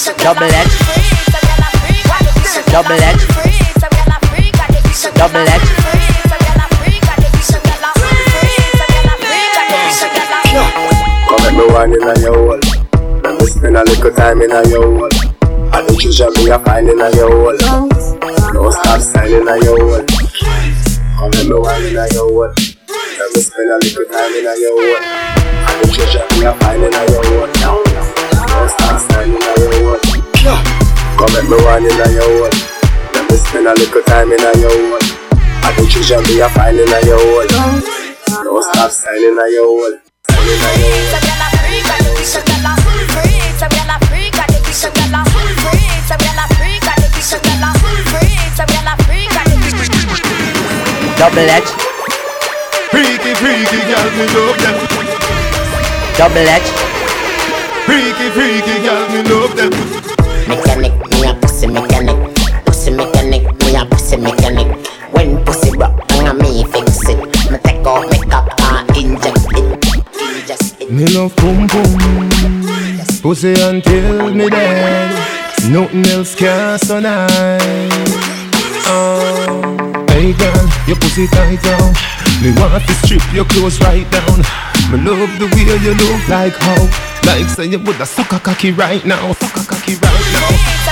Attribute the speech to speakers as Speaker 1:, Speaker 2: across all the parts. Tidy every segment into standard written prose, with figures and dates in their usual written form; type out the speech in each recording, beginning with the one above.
Speaker 1: double edge, double edge, double edge.
Speaker 2: Come at me one in a your hole. Let me spend a little time in a your hole. I the treasure me a find in a your hole. Don't stop signing a your hole. Come at me one in a your hole. Let me spend a little time in a your hole. I the treasure me a find in a your hole. Don't stop signing a your hole. Come at me one in a your hole. Let me spend a little time in a your hole. I the treasure me a find in a your hole. Don't stop signing a your hole.
Speaker 1: Double edge,
Speaker 3: freaky, freaky, girl, me love them.
Speaker 1: double edge,
Speaker 3: Freaky, freaky, girl, me love them.
Speaker 4: Mechanic, me a pussy mechanic. Pussy mechanic, me a pussy mechanic. When pussy rock, and me fix it. Me take off makeup and inject it. Inject it.
Speaker 3: Me love boom boom, pussy until me dead. Nothing else can so nice. Hey girl, your pussy tight down. Me want to strip your clothes right down. Me love the way you look like how. Like say you woulda suck a cocky right now. Suck a cocky right now.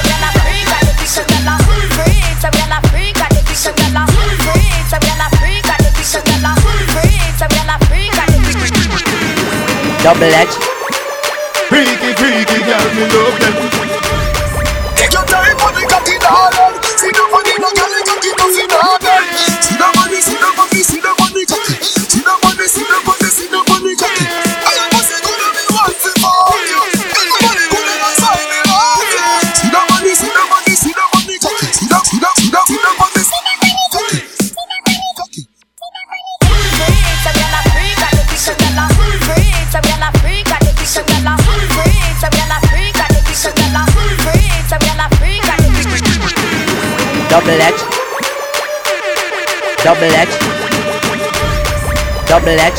Speaker 1: double edge,
Speaker 3: Freaky, freaky, girl, me love them.
Speaker 5: Take your time for the cocky darling. See the money, no girl, the cocky nothing harder. See the money, see the money, see the money cocky. See the money, see the money, see the money cocky. I am pussy gonna be one for you. Everybody gonna go sign me love you. See the money, see the money, see the money cocky. See the money, see the money cocky.
Speaker 1: double edge, double edge, double edge,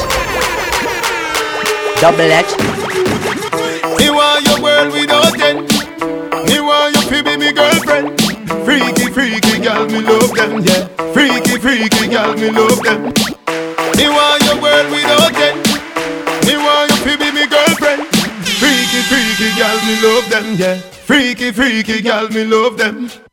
Speaker 1: double edge.
Speaker 3: Me want your world without end. Me want you to be me girlfriend. Freaky, freaky, girl, me love them, yeah. Freaky, freaky, girl, me love them. Me want your world without end. Me want you to be me girlfriend. Freaky, freaky, girl, me love them, yeah. Freaky, freaky, girl, me love them.